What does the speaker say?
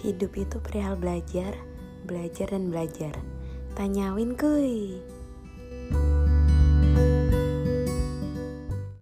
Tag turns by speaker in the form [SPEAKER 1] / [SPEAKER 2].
[SPEAKER 1] Hidup itu perihal belajar, belajar dan belajar. Tanyawin kuy.